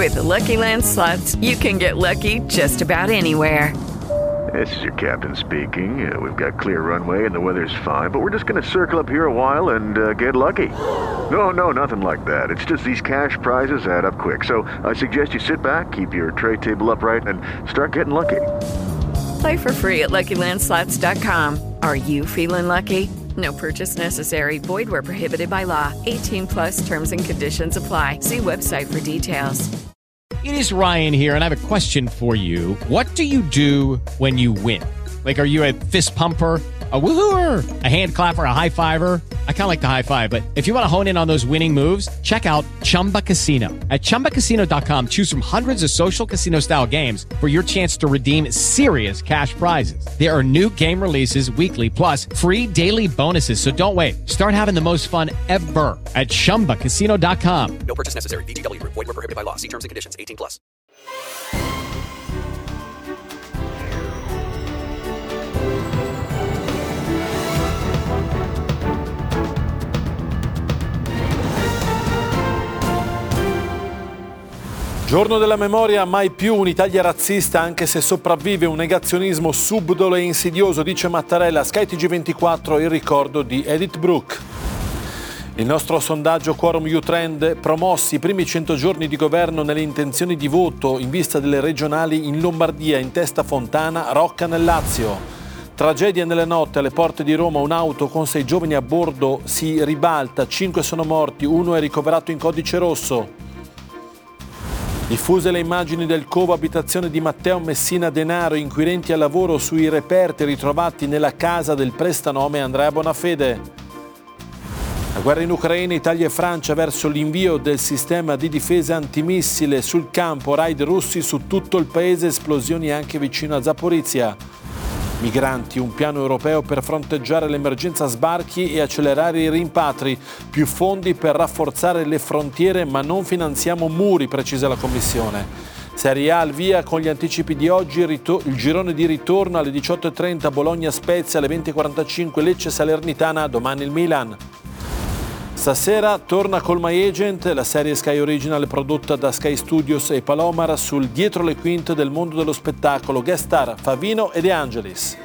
With the Lucky Land Slots, you can get lucky just about anywhere. This is your captain speaking. We've got clear runway and the weather's fine, but we're just going to circle up here a while and get lucky. No, nothing like that. It's just these cash prizes add up quick. So I suggest you sit back, keep your tray table upright, and start getting lucky. Play for free at LuckyLandSlots.com. Are you feeling lucky? No purchase necessary. Void where prohibited by law. 18 plus terms and conditions apply. See website for details. It is Ryan here, and I have a question for you. What do you do when you win? Like, are you a fist pumper, a woohooer, a hand clapper, a high fiver? I kind of like the high five, but if you want to hone in on those winning moves, check out Chumba Casino. At ChumbaCasino.com, choose from hundreds of social casino-style games for your chance to redeem serious cash prizes. There are new game releases weekly, plus free daily bonuses, so don't wait. Start having the most fun ever at ChumbaCasino.com. No purchase necessary. VGW Group. Void where prohibited by law. See terms and conditions. 18 plus. Giorno della memoria, mai più un'Italia razzista, anche se sopravvive un negazionismo subdolo e insidioso, dice Mattarella. Sky TG24, il ricordo di Edith Brooke. Il nostro sondaggio Quorum U-Trend, promossi i primi 100 giorni di governo nelle intenzioni di voto in vista delle regionali in Lombardia, in testa Fontana, Rocca nel Lazio. Tragedia nelle notte alle porte di Roma, un'auto con 6 giovani a bordo si ribalta, 5 sono morti, 1 è ricoverato in codice rosso. Diffuse le immagini del covo abitazione di Matteo Messina Denaro, inquirenti al lavoro sui reperti ritrovati nella casa del prestanome Andrea Bonafede. La guerra in Ucraina, Italia e Francia verso l'invio del sistema di difesa antimissile sul campo, raid russi su tutto il paese, esplosioni anche vicino a Zaporizia. Migranti, un piano europeo per fronteggiare l'emergenza sbarchi e accelerare i rimpatri, più fondi per rafforzare le frontiere ma non finanziamo muri, precisa la Commissione. Serie A al via con gli anticipi di oggi, il girone di ritorno alle 18.30 Bologna-Spezia, alle 20.45 Lecce-Salernitana, domani il Milan. Stasera torna Call My Agent, la serie Sky Original prodotta da Sky Studios e Palomar sul dietro le quinte del mondo dello spettacolo, guest star Favino e De Angelis.